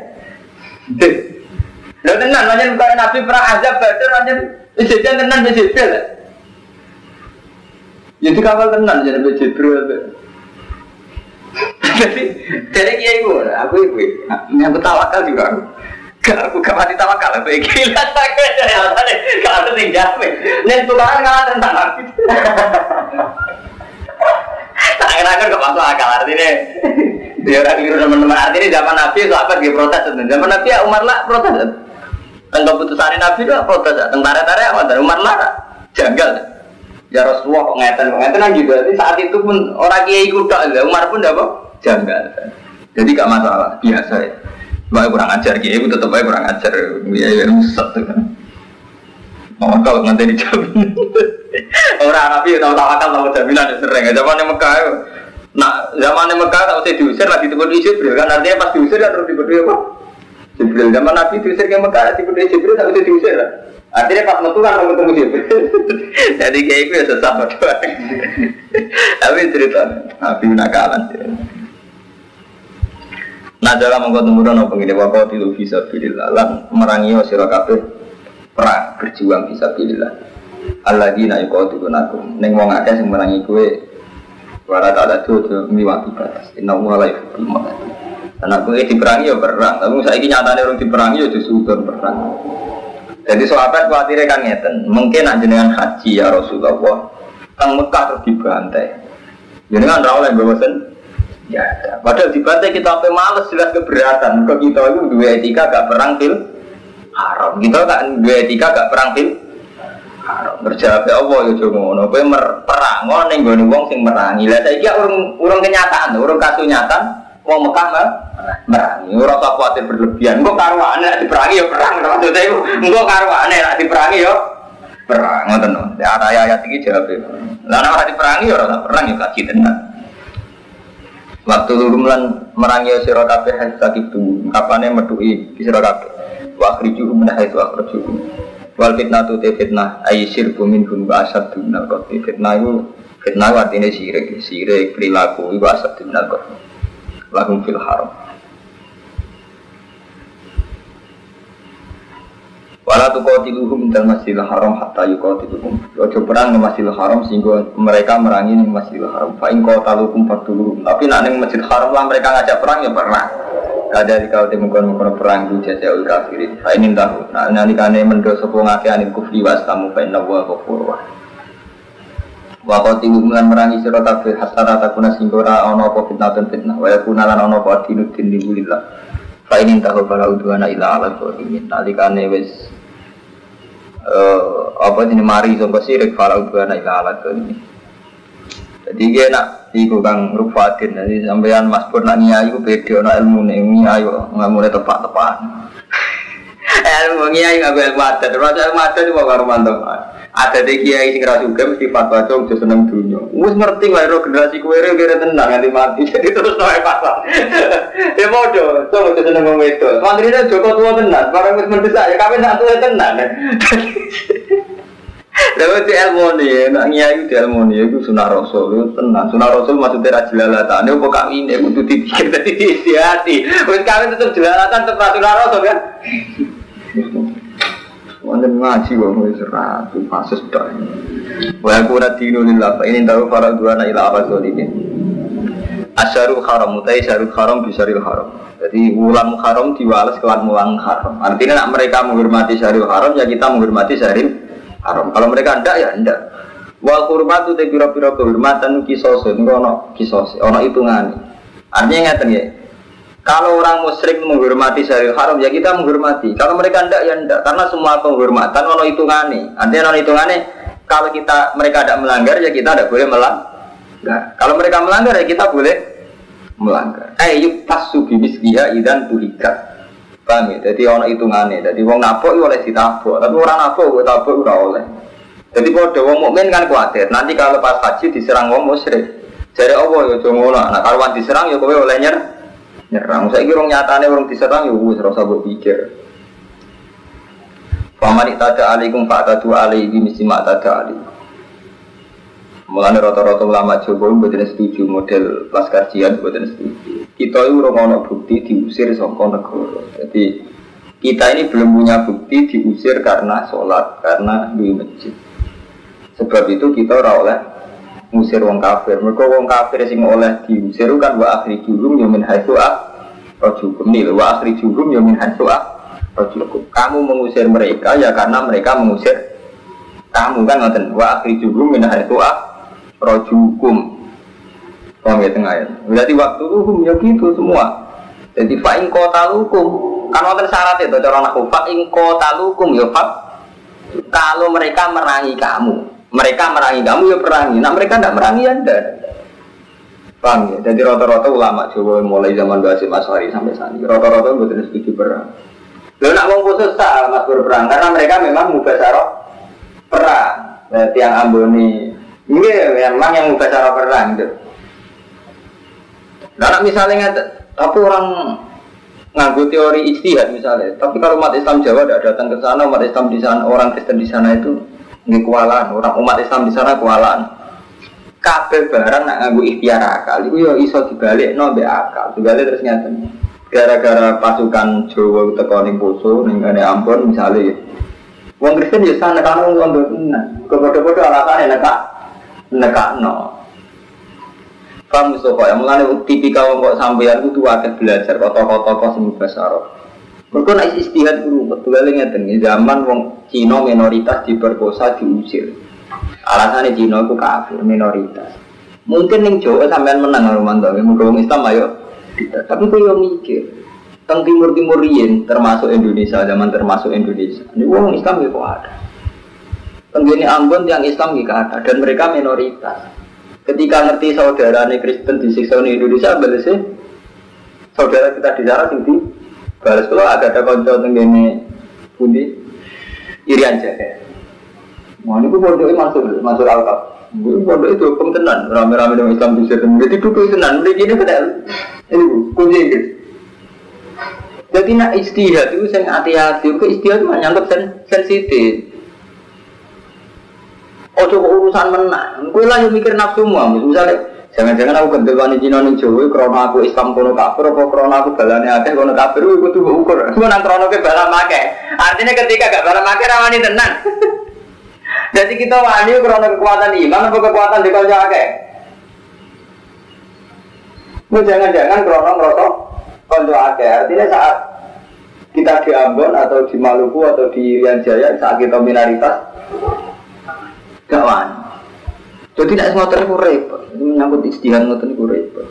Lha tenan pancen kaya Nabi perang Azab Badar pancen sejen tenan wis Jibril. Jadi kawal tenan jadi Jibril. Jadi kiai gue, aku yang tawakal juga. Aku gak mati tawakal, aku gila kalau ada yang jamin. Nen tulangan kalah tentang aku. Tangan-tangan gak masuk akal artinya. Dia orang keliru teman-teman artinya zaman Nabi sahabat dia protes. Zaman Nabi ya Umar lah protes. Tentang keputusan Nabi itu protes. Tentang Umar lah janggal. Ya Rasulullah kok ngeten kan gitu. Jadi saat itu pun orang kiai kuda, Umar pun apa? Janggal. Jadi gak masalah, biasa ya. Baik kurang ajar kiai, tetap baik kurang ajar. Ya rusak tuh kan. Tawakal nganti dijamin. Orang Nabi tahu tawakal tahu jaminan sering. Zaman Mekah, nak zaman Mekah tak usah diusir lagi dikut Jibril kan artinya pas diusir kan terus dikut apa? Jibril. Zaman Nabi diusir ke Mekah dikut Jibril tak usah diusir lah. Artinya pas metu kan ketemu Jibril. Jadi kayak itu ya sesat doang. Tapi cerita Nabi nakalan. Nah dalam mengkontumuran apa ini waktu itu bisa pilih lan merangi sira kabeh perang berjuang bisa pilih lah. Alladzina yuqatilunakum ning wong akeh sing merangi kowe ora tak ada tuh miwati batas. Inna wa la yuhibbul mu'tadin. Anak kowe diperangi ya perang, tapi saiki nyatane urung diperangi ya justru perang. Jadi sahabat kuatire kan ngeten, mungkin nak jenengan haji ya Rasulullah teng Mekah terus dibantai. Jenengan ra oleh bosen ya, padahal dibantai kita sampai males jelas keberatan. Kok kita itu dua etika gak perang fil haram. Kita kan dua etika gak perang fil haram. Berjawab ya Allah ya ngono. Kowe perang ning nggone wong sing merangi. Lah saiki urung kenyataan, urung kasunyatan wong Mekah merangi. Ora usah kuwatir berlebihan. Engko karwane nek diperangi ya perang maksudnya iku. Engko karwane nek diperangi ya perang ngoten lho. Ayat iki jawab. Lah nek ora diperangi ya ora perang ya kaji tenan. Waktu lurung lan merangi sira kabeh sakit tu kapane metuki sira kabeh wa akhriju min haitsu akhrajukum wal fitnatu fitnah ay syirku minhum wa asaddu minal qatl fitnah artinya sirik perilaku wa asaddu minal qatl lahum fil haram wala tuqatiluhum minal masjidil haram hatta yuqatiluhum. Ojo perang nang Masjidil Haram sehingga mereka merangi ning Masjidil Haram. Fa in qataluhum faqtuluhum. Tapi nek ning Masjidil Haram lah mereka ngajak perang ya perang. Kada dikau temungkon perang di jajaul kafirin. Fa in tahu. Nah nalikane mendo sapa ngake anil kufri was tamu fa inna wa ghafurur rahim. Wa qatiluhum lan merangi sira kabeh hatta takuna sehingga ora ana apa fitnah wa yakuna lan ana apa dinutin lillah. Fa in tahu fala udwana ila ala zalimin. Nalikane wis apa jenis mari sampai sirik falau buana ila alat ini. Jadi dia nak iku kang rufatin. Jadi sampean Mas Pur nak nyai iku beda nak ilmu nih nyai nggak mulai tepat. Ilmu nyai nggak boleh mata. Terus mata itu bawa mantap. Ada deh kiai sing ra juga mesti fatwa cung seneng dunia. Wis ngerti wae ro generasi kowe re kira tenang nganti mati. Jadi terus nae pasal. Ya modho, cung seneng wong wedok. Mantrine Joko tua tenan, barang wis mendesak ya kawin sak tuwa tenan. Lalu di ilmu nih, nak nyai di ilmu nih, itu sunah rasul, itu tenang. Sunah rasul maksudnya rajilalatan. Ini kok kawin, itu dipikir tadi di hati. Wis kawin tetap jelalatan, tetap sunah rasul kan? Wanten ngaji wong wis ora pasus tok. Wa aku ora dinulillah fa ini tahu para duana ila abadul ini. Asyarul haram utai syarul haram bisaril haram. Jadi wulan haram diwales kelan mulang haram. Artinya nak mereka menghormati syarul haram ya kita menghormati syaril haram. Kalau mereka ndak ya ndak. Wal hurmatu te pira-pira kehormatan kisosun ono kisos ono hitungane. Artinya ngeten ya. Kalau orang musyrik menghormati syaril haram ya kita menghormati. Kalau mereka ndak ya ndak karena semua penghormatan ono hitungane. Artinya ono hitungane kalau mereka tidak melanggar ya kita tidak boleh melanggar. Kalau mereka melanggar ya kita boleh melanggar. Yuk tasu bibis dia idan tuhikat. Paham ya? Jadi ono hitungane. Jadi wong nabok oleh ditabok, tapi orang nabok tabok ora oleh. Jadi pada wong mukmin kan kuatir. Nanti kalau pas haji diserang wong musyrik. Jare Allah ya aja ngono. Nah karuan diserang ya kowe oleh nyerang. Saya kira nyatane orang diserang ya wis ora usah mbok pikir. Faman tada alaikum fa'tadu alaihi misi ma tada alaihi. Mulane rata-rata ulama Jawa mboten setuju model laskar jihad mboten setuju. Kita itu ora ono bukti diusir saka negara. Jadi kita ini belum punya bukti diusir karena sholat, karena di masjid. Sebab itu kita ora oleh ngusir wong kafir. Mergo wong kafir sing oleh diusir kan wa akhrijuhum ya min haitsu akhrajukum nil wa akhrijuhum ya min haitsu akhrajukum. Kamu mengusir mereka ya karena mereka mengusir kamu kan ngoten wa akhrijuhum min haitsu akhrajukum. Paham ya tengah ya. Berarti waktu itu ya gitu semua. Jadi fa in qatalukum kan wonten syarat itu cara nahwu fa in qatalukum ya fa kalau mereka merangi kamu. Mereka merangi kamu ya perangi. Nah mereka tidak merangi ya tidak. Paham ya? Jadi rata-rata ulama Jawa mulai zaman Basim Asy'ari sampai saat ini rata-rata betul setuju perang. Lalu nak wong khusus tak mas berperang karena mereka memang mubasyarah perang. Tiang Amboni. Ini memang yang bukan cara perang itu. Nah, misalnya tapi orang nganggo teori ijtihad misalnya. Tapi kalau umat Islam Jawa tidak datang ke sana, umat Islam di sana, orang Kristen di sana itu nggih kualan, orang umat Islam di sana kualan. Kabeh barang nak nganggo ikhtiar akal, itu ya iso dibalikno mbek akal. Dibalik terus ngaten. Gara-gara pasukan Jawa teko ning Poso, ning ngene Ambon misalnya. Wong Kristen ya sana kan wong tenan. Kok-kok alasane nekakno. Paham Mustafa, yang mulane tipikal wong kok sampeyan kudu akeh belajar kota-kota sing basaro. Mergo nek istihad kudu betul ngeten zaman wong Cina minoritas diperkosa diusir. Alasannya Cina itu kafir, minoritas. Mungkin yang Jawa sampean menang Romanto, mungkin Islam ayo. Tapi kau yang mikir, teng timur riyen termasuk Indonesia, zaman termasuk Indonesia. Ini orang Islam itu ada. Tenggini Ambon yang Islam itu ada dan mereka minoritas. Ketika ngerti saudara Kristen disiksa di Indonesia, balasnya saudara kita di sana tinggi. Balas kalau ada konco tenggini pundi Irian Jahe. Wah, ini pun pondoknya masuk Alkaf. Ini pondok itu hukum tenan, rame-rame dengan Islam di sini. Jadi duduk tenan, ini ini kunci ini. Jadi nak istihad itu saya hati-hati. Ke istihad itu menyangkut sensitif. Oh coba urusan menang. Kau lah yang mikir nafsu semua. Misalnya, jangan-jangan aku gendel wani Cina ning Jawa, karena aku Islam kono kafir, apa karena aku balane akeh kono kafir, aku tuh ukur. Cuma nang krono ke balam akeh. Artinya ketika gak balam akeh rawani tenan. Jadi kita wani karena kekuatan iman atau kekuatan di kalja akeh. Jangan-jangan karena ngerosok kalja akeh. Artinya saat kita di Ambon atau di Maluku atau di Irian Jaya saat kita minoritas gak wani. Jadi tidak semua itu repot. Ini menyangkut istihad ngoten itu repot.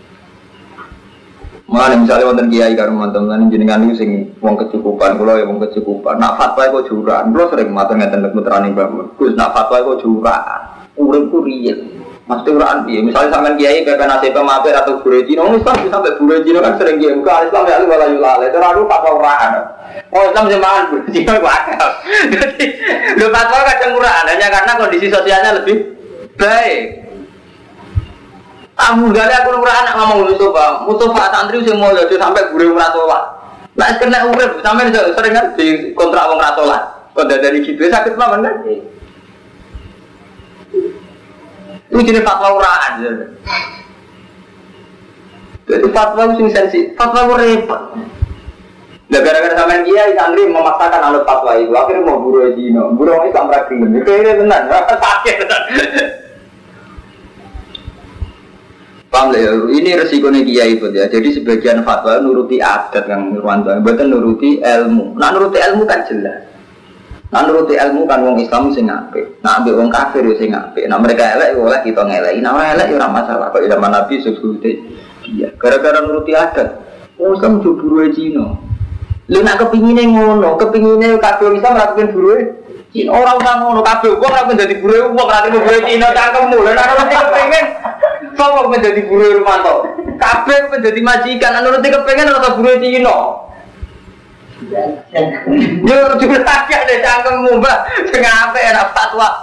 Mana misalnya wonten kiai karo teman-teman jenengan niku sing wong kecukupan, kula ya wong kecukupan. Nak fatwa kok juraan. Kula sering matur ngeten putrane Mbah Mun. Gus nak fatwa kok juraan. Uripku riyen. Mesti uraan piye? Misalnya sampean kiai PP nasib mampir atau guru Cina, Islam bisa sampai guru Cina kan sering kiai muka Islam ya wala yulale. Terlalu fatwa uraan. Oh Islam zaman guru Cina kok akal. Jadi lho fatwa kadang uraan hanya karena kondisi sosialnya lebih baik. Kamu gak ada aku anak ngomong Mustafa santri sing mulya sampai guru ora sholat. Lah kena urip sampean sering kan di kontrak wong ora sholat. Kok dari gitu sakit mawon kan? Itu jenis fatwa uraan. Jadi fatwa sing sensitif, fatwa repot. Lah gara-gara sampean kiai santri memaksakan anut fatwa itu, akhirnya mau guru Cina. Guru Islam ra gelem. Kene tenan, sakit tenan. Paham ya? Ini resikonya kiai itu ya. Jadi sebagian fatwa nuruti adat yang Nurwanto, bukan nuruti ilmu. Nah nuruti ilmu kan jelas. Nah nuruti ilmu kan wong Islam sing apik. Nah ambek wong kafir yo sing apik. Nah mereka elek oleh kita ngeleki. Nah ora elek yo ora masalah. Kok zaman Nabi sebute dia. Gara-gara nuruti adat. Wong Islam juburu Cina. Lha nak kepingine ngono, kepingine kafir Islam ora kepengin buruhe Cina. Ora usah ngono kabeh wong ora kepengin dadi buruhe wong ora kepengin buruhe Cina cangkemmu. Lha nek kepengin sopo menjadi buruh Rumanto, kabeh menjadi majikan, anu nanti kepengen atau buruh Cina. Yo juga tak ada cangkemmu mbak, sengape enak fatwa.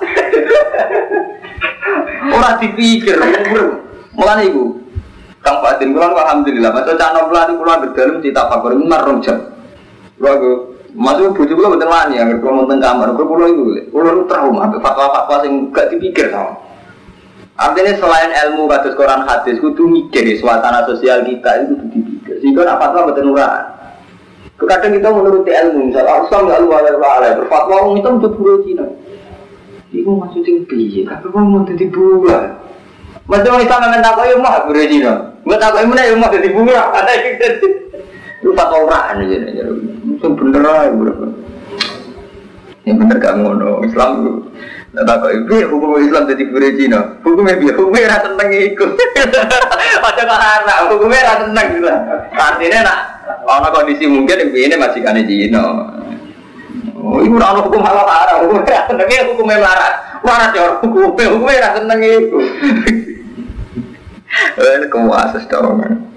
Orang dipikir, mulai ibu, Kang Fadil, pulang alhamdulillah, masa cangkem pelan pulang berdalam cita fakir marung jam. Lalu masuk bujuk pulang betul wani, agar pulang teng kamar, pulang itu, pulang trauma, fatwa-fatwa sing gak dipikir sama. Artinya selain ilmu kados Quran hadis kudu mikir suasana sosial kita itu kudu dipikir. Sehingga nak fatwa mboten uraan. Kadang kita menuruti ilmu, misalnya Islam ya Allah berfatwa wong itu untuk buruh Cina. Iku maksudnya piye? Kabeh wong mau dadi buruh. Mesti wong Islam men takoki mah buruh Cina. Mbok takoki meneh yo mah dadi buruh. Ada iki. Lu fatwa uraan jenenge. Mesti bener ae buruh. Yang bener gak ngono Islam itu. Nah tak kok hukum Islam jadi buruh Cina. Hukumnya biar hukumnya rasa tentang ikut. Macam mana? Hukumnya rasa tentang gitu. Artinya nak orang kondisi mungkin ini majikan Cina. Oh ini orang hukum halal haram. Hukumnya tentang hukumnya melarat. Melarat ya hukumnya rasa tentang itu. Kuasa dong.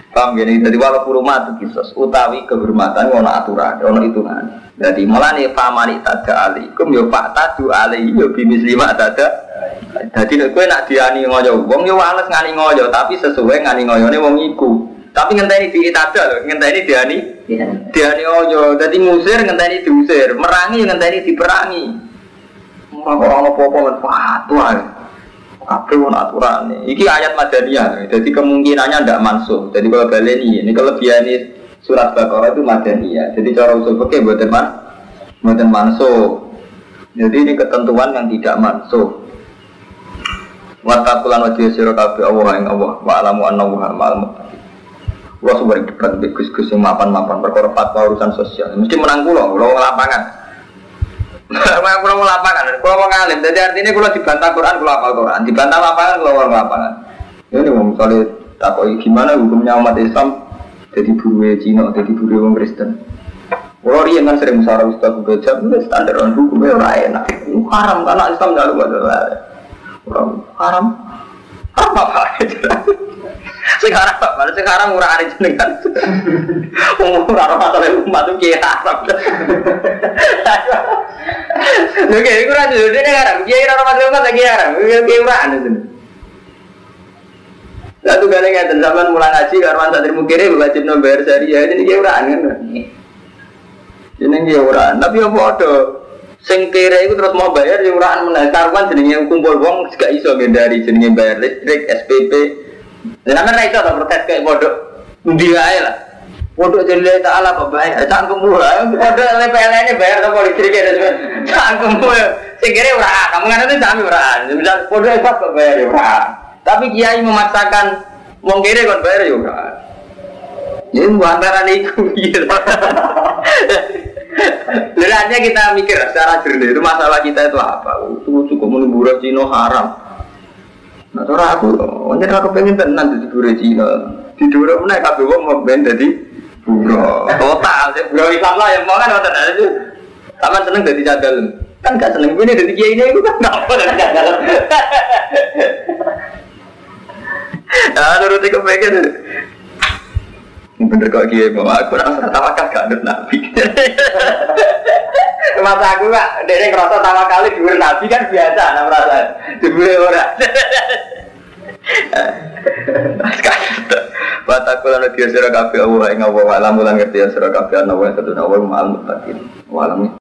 Paham gini, jadi walau hurumat kisos utawi kehormatan ono aturan, ono hitungan. Jadi malah nih famani tada alikum yo pak tadu alaihi yo bimis lima tada. Jadi nek kowe nak diani ngoyo wong yo wales ngani ngoyo tapi sesuai ngani ngoyone wong iku. Tapi ngenteni diitada lho, ngenteni diani. Diani ngoyo, dadi ngusir ngenteni diusir, merangi ngenteni diperangi. Ora apa-apa men fatwa. Kabeh ono aturane. Iki ayat Madaniyah. Jadi kemungkinannya ndak mansuh. Jadi kalau baleni ini kelebihan surat Baqarah itu Madaniyah. Jadi cara usul fikih mboten mansuh. Jadi ini ketentuan yang tidak mansuh. Wa taqulan wajhi sira kabeh Allah ing Allah wa alamu annahu ma'al muttaqin. Wa sumber debat Gus-gus sing mapan-mapan perkara fatwa urusan sosial. Mesti menang kula lapangan. Kalau mau lapangan, kalau mau ngalim, jadi artinya kalau dibantah Quran, kalau hafal Quran, dibantah lapangan, kalau orang lapangan. Ini misalnya takoi gimana hukumnya umat Islam jadi buruh Cina, jadi buruh orang Kristen. Kalau dia kan sering musyawarah Ustaz Bujab, itu standar orang hukumnya orang enak. Itu haram karena Islam tidak lupa orang haram apa? Sekarang murah hari jenengan. Murah masalah umat itu kiai haram. Oke, itu rasa dulu ini haram. Kiai haram masalah umat lagi haram. Kiai murah itu. Satu kali ngeten zaman mulai ngaji karwan santri mukire wajib nomor syariah ini kiai murah kan. Ini kiai murah. Tapi apa ada? Sing kere itu terus mau bayar yang murahan menang karuan jenenge kumpul wong gak iso ngendari jenenge bayar listrik SPP. Sampeyan ra iso ta protes kayak bodoh. Ndi wae lah. Bodoh jenenge taala kok bayar cangkemmu. Bodoh PLN bayar ta listrik ya cangkemmu. Sing kere ora, kamu kan itu sami ora. Misal bodoh hebat kok bayar ya ora. Tapi kiai memaksakan wong kere kon bayar ya ora. Ya antara niku gitu. Sebenarnya kita mikir secara jernih itu masalah kita itu apa? Itu cukup menubur Cina haram. Nah, cara aku, wajar aku pengen tenan jadi buruh Cina. Tidur aku naik kabel wong mau ben jadi buruh. Total, buruh Islam lah yang mau kan waktu itu. Taman seneng jadi cadal. Kan gak seneng ini jadi kiai ini itu kan nggak apa jadi cadal. Nah, nuruti kepengen. Bener kok kiai mau aku rasa tawakal gak ada nabi. Masa aku kak, dia ngerasa tawakal di dhuwur nabi kan biasa, nah merasa di dhuwur ora. Batakulan dia sira kabeh Allah ing Allah alam lan ngerti sira kabeh ana wae ketuna wae ma'al muttaqin. Walam